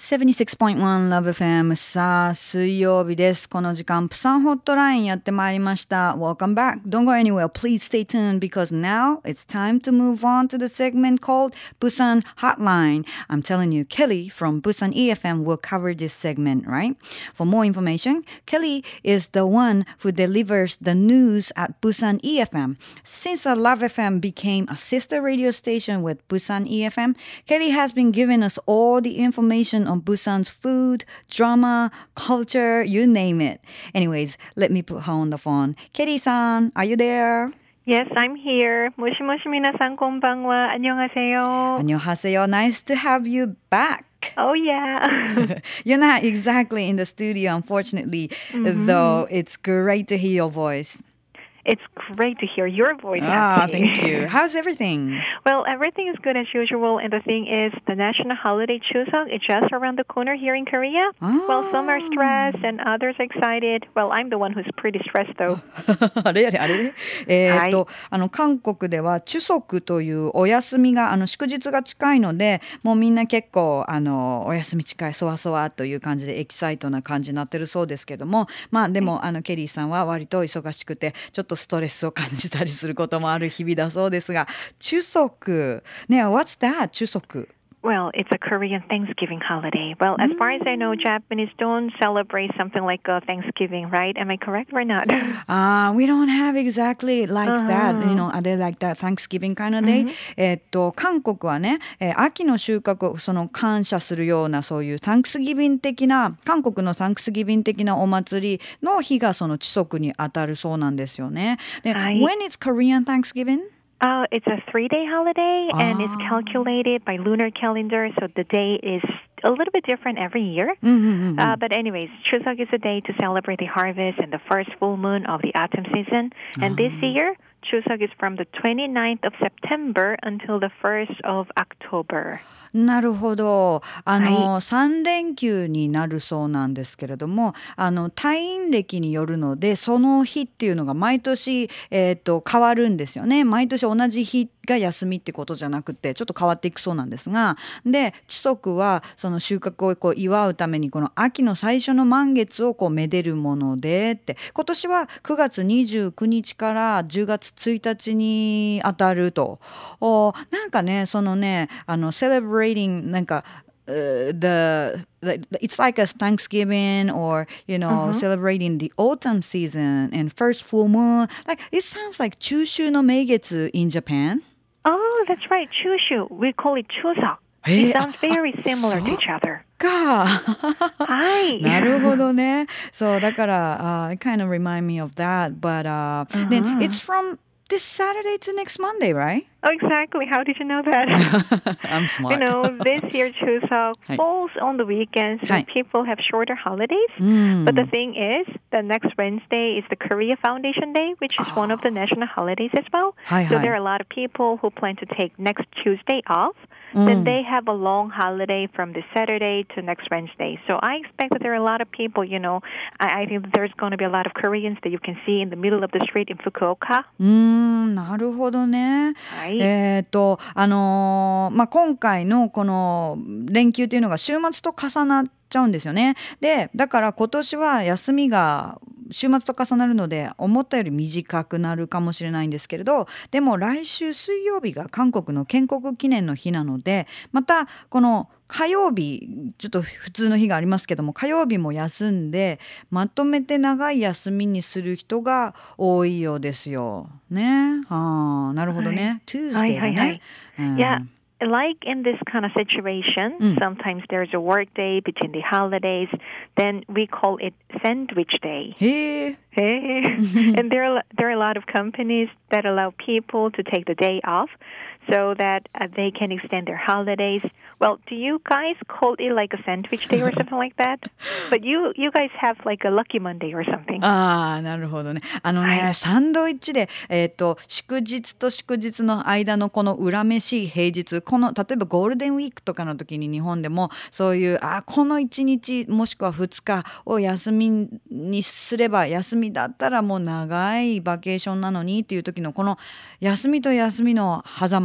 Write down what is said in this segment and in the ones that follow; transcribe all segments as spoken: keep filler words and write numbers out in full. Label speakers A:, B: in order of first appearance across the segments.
A: ななじゅうろくてんいち Love エフエム さあ水曜日です。この時間プサンホットラインやってまいりました。 Welcome back. Don't go anywhere. Please stay tuned because now it's time to move on to the segment called Busan Hotline. I'm telling you, Kelly from Busan E F M will cover this segment, right? For more information, Kelly is the one who delivers the news at Busan E F M. Since Love エフエム became a sister radio station with Busan E F M, Kelly has been giving us all the information on Busan's food, drama, culture, you name it. Anyways, let me put her on the phone. Kelly-san, are you there?
B: Yes, I'm here. 모시모시 미나상 곤방와 안녕하세요.
A: 안녕하세요. Nice to have you back.
B: Oh, yeah.
A: You're not exactly in the studio, unfortunately, mm-hmm. though it's great to hear your voice.
B: It's great to hear your voice.
A: Ah,
B: actually.
A: thank you. How's everything?
B: Well, everything is good as usual. And the thing is, the national holiday Chuseok is just around the corner here in Korea.
A: Ah.
B: Well, some are stressed and others are excited. Well, I'm the one who's pretty stressed, though.
A: あれあれあれえーっと、あの韓国ではチュソクというお休みがあの祝日が近いので、もうみんな結構あのお休み近いそわそわという感じでエキサイトな感じになってるそうですけども、まあでもあのケリーさんは割と忙しくてちょっとストレスを感じたりすることもある日々だそうですが、チュソクね、What's that? チュソク
B: Well, it's a Korean Thanksgiving holiday. Well, as far as I know, Japanese don't celebrate something like a Thanksgiving, right? Am I correct or not?
A: Uh, we don't have exactly like
B: Uh-huh.
A: that. You know, are they like that Thanksgiving kind of day? えっと、韓国はね、えー秋の収穫をその感謝するようなそういう Thanksgiving 的な、韓国の Thanksgiving 的なお祭りの日がそのチソクに当たるそうなんですよね。で、
B: はい。
A: When is Korean Thanksgiving?
B: Uh, it's a three-day holiday, and it's calculated by lunar calendar, so the day is a little bit different every year.
A: Mm-hmm.
B: Uh, but anyways, Chuseok is a day to celebrate the harvest and the first full moon of the autumn season. And this year, Chuseok is from the twenty-ninth of September until the first of October.
A: なるほど。あの、
B: はい、
A: さん連休になるそうなんですけれども、あの、退院歴によるので、その日っていうのが毎年、えっと、変わるんですよね。毎年同じ日が休みってことじゃなくて、ちょっと変わっていくそうなんですが、で、チソクはその収穫をこう祝うために、この秋の最初の満月をこうめでるものでって、今年はくがつにじゅうくにちからじゅうがつついたちに当たると。お、なんかね、そのね、あの、celebrating なんか、Uh, the, the it's like a Thanksgiving or you know
B: Uh-huh.
A: celebrating the autumn season and first full moon, like it sounds like 中秋の名月 in Japan.
B: Oh, that's right, Chushu. We call it Chuseok.
A: えー、
B: It sounds very
A: あ、
B: similar
A: そ
B: to
A: う
B: each other.
A: か。
B: はい。
A: なるほどね。そうだから、uh, it kind of remind me of that, but uh,
B: Uh-huh.
A: then it's from this Saturday to next Monday, right?
B: Oh, exactly. How did you know that?
A: I'm smart.
B: You know, this year Chuseok falls on the weekend, so
A: Hi.
B: people have shorter holidays.
A: Mm.
B: But the thing is, the next Wednesday is the Korea Foundation Day, which is one of the national holidays as well.
A: Hi,
B: so
A: hi.
B: there are a lot of people who plan to take next Tuesday off. Then they have a long holiday from this Saturday to next Wednesday. So I expect that there are a lot of people, you know, I, I think that there's going to be a lot of Koreans that you can see in the middle of the street in Fukuoka.
A: うーん、なるほどね。
B: はい。
A: えっと、あのーまあ、今回のこの連休っていうのが週末と重なっちゃうんですよね。で、だから今年は休みが週末と重なるので思ったより短くなるかもしれないんですけれど、でも来週水曜日が韓国の建国記念の日なので、またこの火曜日ちょっと普通の日がありますけども、火曜日も休んでまとめて長い休みにする人が多いようですよね。ああ、なるほどね。Tuesday だね。うん、
B: Yeah. Like in this kind of situation,
A: Mm.
B: sometimes there's a work day between the holidays. Then we call it sandwich day.
A: へえ。
B: Hey. And there are, there are a lot of companies that allow people to take the day off so that uh, they can extend their holidays. Well, do you guys call it like a sandwich day or something like that? But you, you guys have like a lucky Monday or something.
A: ああ、なるほどね。あのね、
B: はい、
A: サンドイッチで、えっと、祝日と祝日の間のこの恨めしい平日、この、例えばゴールデンウィークとかの時に日本でも、そういう、あ、このいちにちもしくはふつかを休みにすれば、休みだったらもう長いバケーションなのにっていう時の、この休みと休みの狭間、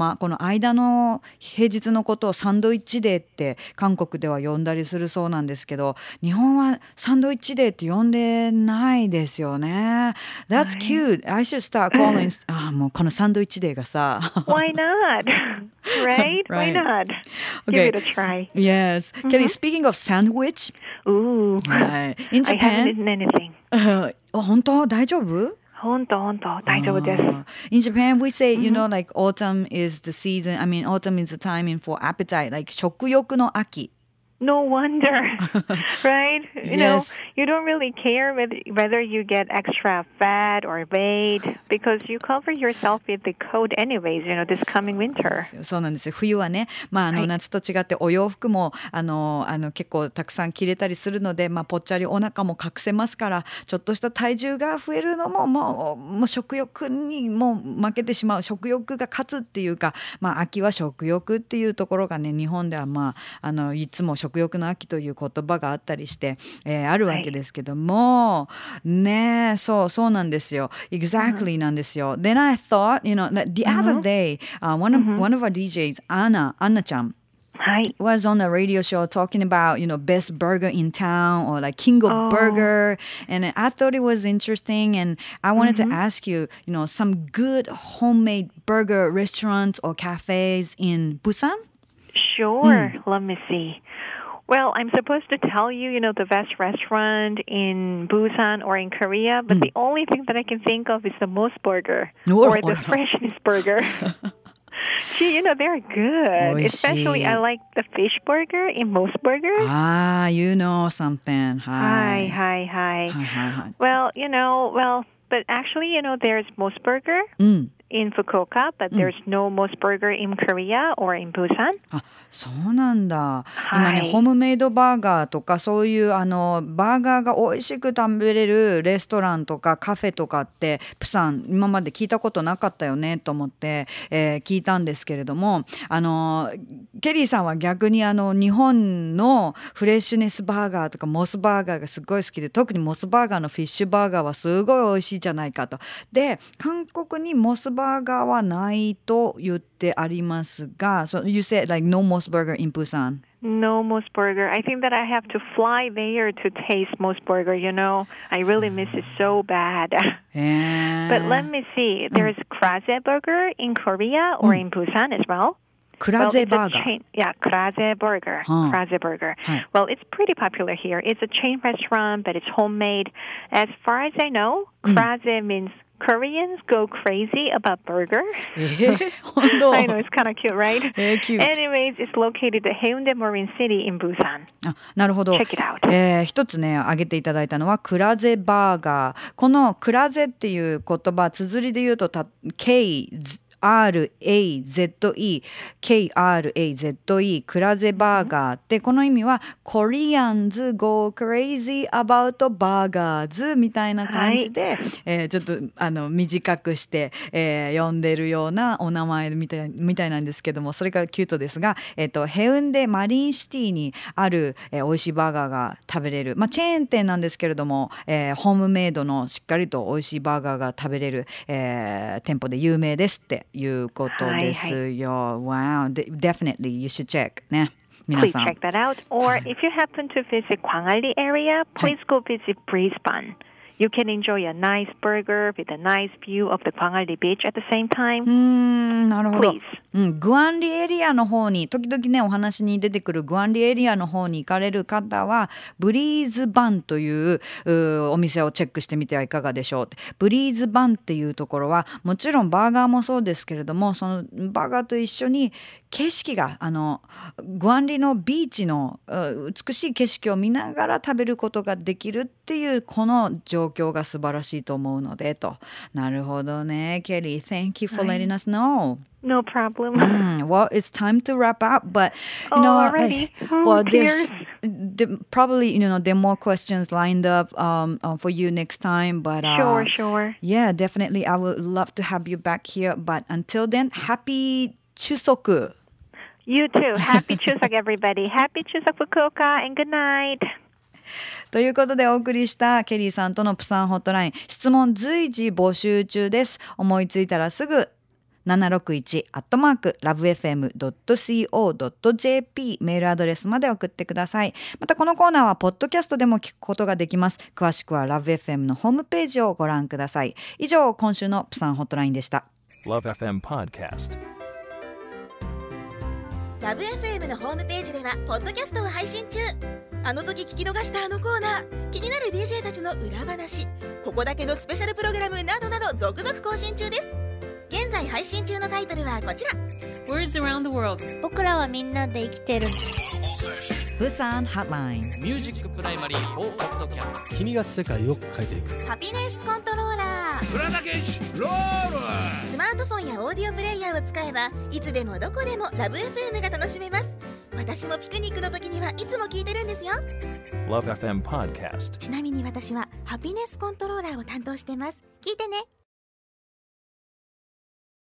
A: のこの間の平日のことをサンドイッチデーって韓国では呼んだりするそうなんですけど、日本はサンドイッチデーって呼んでないですよね。That's cute. I should start calling あもうこのサンドイッチデーがさ
B: Why not? Right? Why
A: Right.
B: not?
A: Okay.
B: Give it a try.
A: Yes. Kelly, speaking of sandwich,
B: Ooh.
A: right. In
B: I haven't
A: Japan,
B: eaten anything.
A: あ本当大丈夫
B: 本当本当大丈夫です。
A: Uh, in Japan, we say, you know, like autumn is the season. I mean, autumn is the time in for appetite, like 食欲の秋。
B: No wonder, right? You
A: Yes.
B: know, you don't really care whether, whether you get extra fat or weight because you cover yourself with the coat anyways, you know, this coming winter.
A: そうなんですよ。冬はね、まあ、あの、
B: はい
A: 夏と違ってお洋服もあのあの結構たくさん着れたりするので、まあ、ぽっちゃりお腹も隠せますから、ちょっとした体重が増えるのももう、もう食欲にもう負けてしまう、食欲が勝つっていうか、まあ、秋は食欲っていうところがね、日本では、まあ、あのいつも食欲の秋という言葉があったりして、えーあるわけですけども、ね、そうそうなんですよ。Exactly なんですよ。Then I thought, you know, that the other day, uh, one of one of our D Js, Anna, Anna ちゃん
B: はい。
A: was on a radio show talking about, you know, best burger in town or like king of
B: Oh.
A: burger. And I thought it was interesting. And I wanted to ask you, you know, some good homemade burger restaurants or cafes in Busan?
B: Sure. Let me see. Well, I'm supposed to tell you, you know, the best restaurant in Busan or in Korea, but the only thing that I can think of is the Mos Burger
A: Oh,
B: or
A: oh,
B: the
A: no.
B: Freshness Burger. Gee, you know, they're good.
A: Oishii.
B: Especially, I like the fish burger in Mos Burgers.
A: Ah, you know something.
B: Hi,
A: Hi.
B: hi, hi.
A: Hi, hi, hi.
B: Well, you know, well, but actually, you know, there's Mos Burger
A: うん。
B: in Fukuoka, but there's no Mos Burger in Korea or in Busan.
A: あ、そうなんだ。
B: はい
A: 今ね、ホームメイドバーガーとかそういうあのバーガーが美味しく食べれるレストランとかカフェとかってプサン今まで聞いたことなかったよねと思って、えー聞いたんですけれども、あのケリーさんは逆にあの日本のフレッシュネスバーガーとかモスバーガーがすごい好きで、特にモスバーガーのフィッシュバーガーはすごい美味しいじゃないかと。で、韓国にモスバーガーはないと言ってありますが、so you said like no Mos Burger in Busan.
B: No Mos Burger. I think that I have to fly there to taste Mos Burger, you know. I really miss it so bad.
A: えー
B: But let me see. There's Kraze Burger in Korea or in Busan as well.
A: クラゼ
B: Well, it's
A: バ
B: a
A: ーガー。
B: chain, yeah, Kraze Burger.
A: Huh.
B: Kraze Burger.
A: Huh.
B: Well, it's pretty popular here. It's a chain restaurant, but it's homemade. As far as I know, Kraze means Koreans go crazy about burger.
A: えー、本当
B: I know, it's kind of cute, right?
A: えー、キュート。
B: Anyways, it's located at Haeundae Marine City in Busan.
A: あ、なるほど。
B: Check it out.
A: えー一つね挙げていただいたのはクラゼバーガー。このクラゼっていう言葉、綴りで言うとた Kアールエーゼットイー ケーアールエーゼットイー クラゼバーガーってこの意味は Koreans go crazy about burgers みたいな感じで、えーちょっとあの短くして、えー呼んでるようなお名前みたいみたいなんですけども、それがキュートですが、えっとヘウンデマリンシティにある、えー、美味しいバーガーが食べれる、まあ、チェーン店なんですけれども、えーホームメイドのしっかりと美味しいバーガーが食べれる、えー店舗で有名ですっていうことですよ。Wow, de- definitely you should check ね。皆
B: Please
A: さん。
B: check that out. Or if you happen to visit Gwangalli area, please go visit Brisbane. You can enjoy a nice burger with a nice view of the Gwangalli beach at the same
A: う
B: time.
A: ーん、なるほど。
B: Please.
A: うん、グアンリエリアの方に時々ねお話に出てくるグアンリエリアの方に行かれる方はブリーズバンといううお店をチェックしてみてはいかがでしょうって。ブリーズバンっていうところはもちろんバーガーもそうですけれども、そのバーガーと一緒に景色があのグアンリのビーチのう美しい景色を見ながら食べることができるっていうこの状況が素晴らしいと思うのでと。なるほどね、ケリー。Thank you for letting us know.
B: No problem.
A: Mm, well, it's time to wrap up, but you
B: Oh,
A: know,
B: already?
A: like,
B: Oh,
A: well, there's
B: tears.
A: there, probably you know there are more questions lined up um, uh, for you next time, but uh,
B: Sure, sure.
A: yeah, definitely, I would love to have you back here. But until then, happy Chuseok.
B: You too. Happy Chuseok, everybody. Happy Chuseok, Fukuoka, and good night.
A: ということでお送りしたケリーさんとのプサンホットライン、質問随時募集中です。思いついたらすぐななろくいちアットマークラブエフエムドットシーオードットジェーピー メールアドレスまで送ってください。またこのコーナーはポッドキャストでも聞くことができます。詳しくはラブエフエムのホームページをご覧ください。以上、今週のプサンホットラインでした。
C: ラブエフエム Podcast。
D: ラブエフエム のホームページではポッドキャストを配信中。あの時聞き逃したあのコーナー、気になる ディージェー たちの裏話、ここだけのスペシャルプログラムなどなど続々更新中です。現在配信中のタイトルはこちら。
E: Words around the world。
F: 僕らはみんなで生きてる。
A: プサンホットライン。
G: ミュージックプライマリーフォーポッドキャスト。
H: 君が世界を変えていく。
D: ハピネスコントローラー。
G: 浦田健志ロール。
D: スマートフォンやオーディオプレイヤーを使えばいつでもどこでもラブ エフエム が楽しめます。私もピクニックの時にはいつも聞いてるんですよ。
C: ラブエフエム Podcast。
D: ちなみに私はハピネスコントローラーを担当してます。聞いてね。